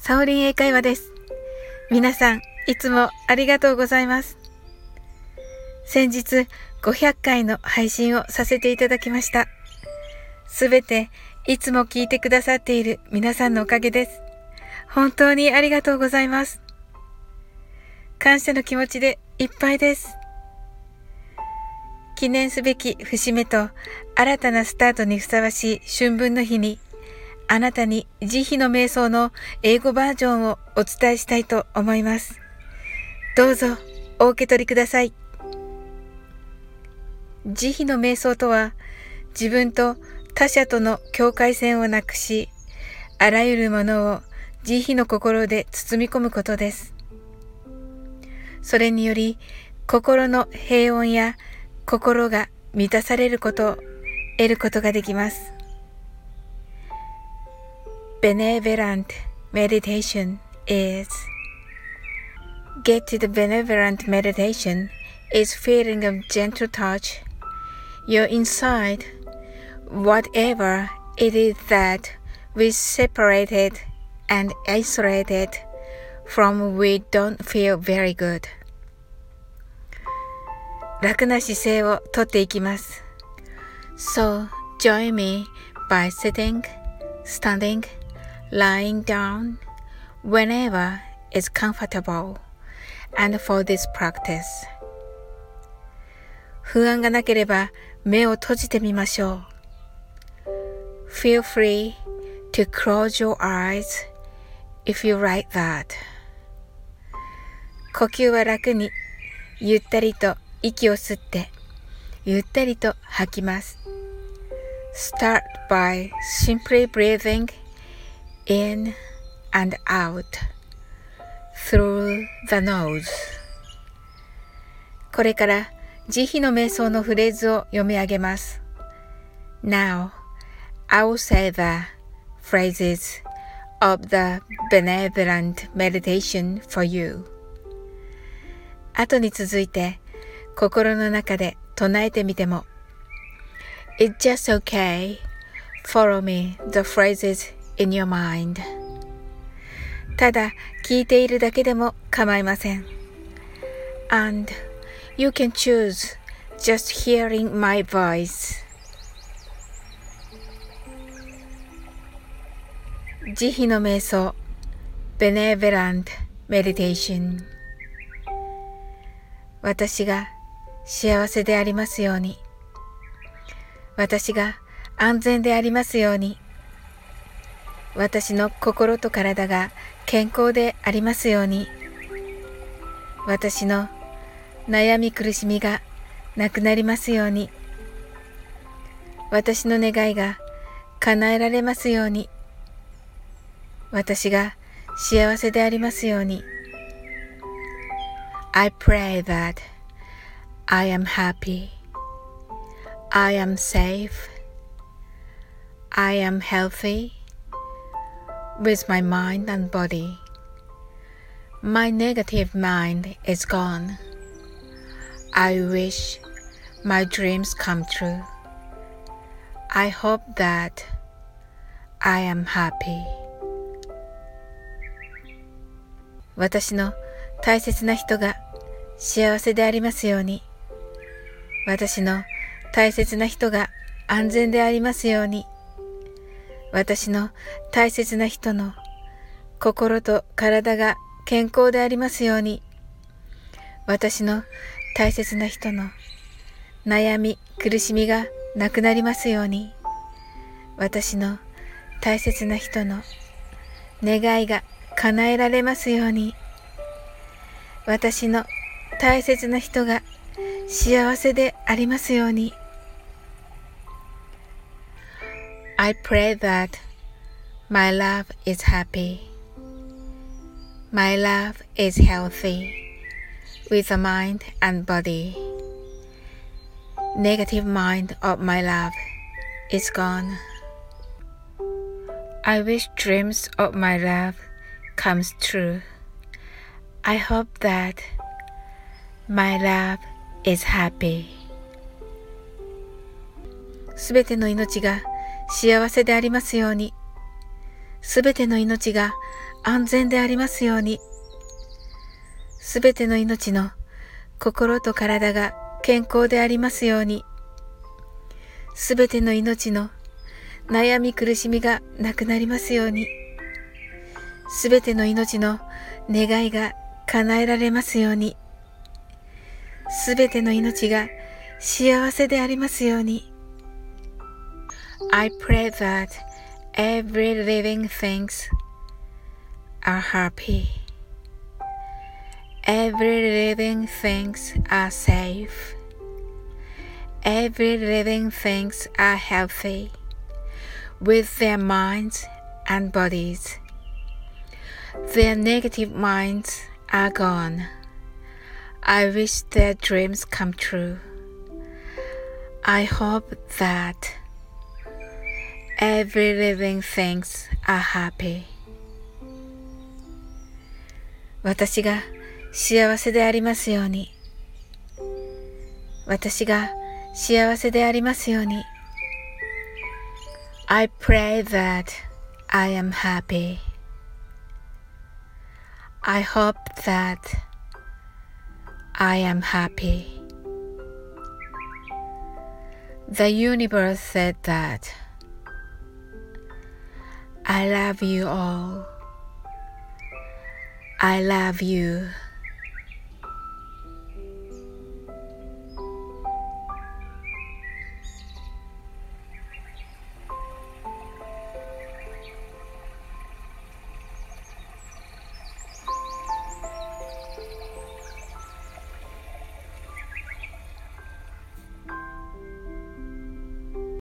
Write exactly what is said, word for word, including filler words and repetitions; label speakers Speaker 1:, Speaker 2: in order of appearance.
Speaker 1: サオリン英会話です。皆さん、いつもありがとうございます。先日、ごひゃっかいの配信をさせていただきました。すべて、いつも聞いてくださっている皆さんのおかげです。本当にありがとうございます。感謝の気持ちでいっぱいです。記念すべき節目と新たなスタートにふさわしい春分の日に、あなたに慈悲の瞑想の英語バージョンをお伝えしたいと思います。どうぞお受け取りください。慈悲の瞑想とは、自分と他者との境界線をなくし、あらゆるものを慈悲の心で包み込むことです。それにより、心の平穏や心が満たされることを得ることができます。Benevolent meditation is Get to the benevolent meditation is feeling of gentle touch. You're inside whatever it is that we separated and isolated from we don't feel very good. 楽な姿勢をとっていきます。So join me by sitting, standing, lying down, whenever is comfortable, and for this practice. 不安がなければ目を閉じてみましょう。Feel free to close your eyes if you like that. 呼吸は楽に、ゆったりと息を吸って、ゆったりと吐きます。Start by simply breathing in and out through the nose. これから慈悲の瞑想のフレーズを読み上げます。Now, I will say the phrases of the benevolent meditation for you. 後に続いて心の中で唱えてみても It's just okay. Follow me the phrases in your mind. ただ聞いているだけでも構いません。And you can choose just hearing my voice. 慈悲の瞑想 Benevolent Meditation。 私が幸せでありますように。私が安全でありますように。私の心と体が健康でありますように。私の悩み苦しみがなくなりますように。私の願いが叶えられますように。私が幸せでありますように。I pray that I am happy. I am safe. I am healthy with my mind and body. My negative mind is gone. I wish my dreams come true. I hope that I am happy. 私の大切な人が幸せでありますように。私の大切な人が安全でありますように。私の大切な人の心と体が健康でありますように。私の大切な人の悩み苦しみがなくなりますように。私の大切な人の願いが叶えられますように。私の大切な人が幸せでありますように。I pray that my love is happy. My love is healthy with the mind and body. Negative mind of my love is gone. I wish dreams of my love comes true. I hope that my love is happy. すべての命が幸せでありますように。すべての命が安全でありますように。すべての命の心と体が健康でありますように。すべての命の悩み苦しみがなくなりますように。すべての命の願いが叶えられますように。すべての命が幸せでありますように。I pray that every living things are happy. Every living things are safe. Every living things are healthy with their minds and bodies. Their negative minds are gone. I wish their dreams come true. I hope that every living things are happy. 私が幸せでありますように。私が幸せでありますように。I pray that I am happy. I hope that I am happy. The universe said that I love you all. I love you.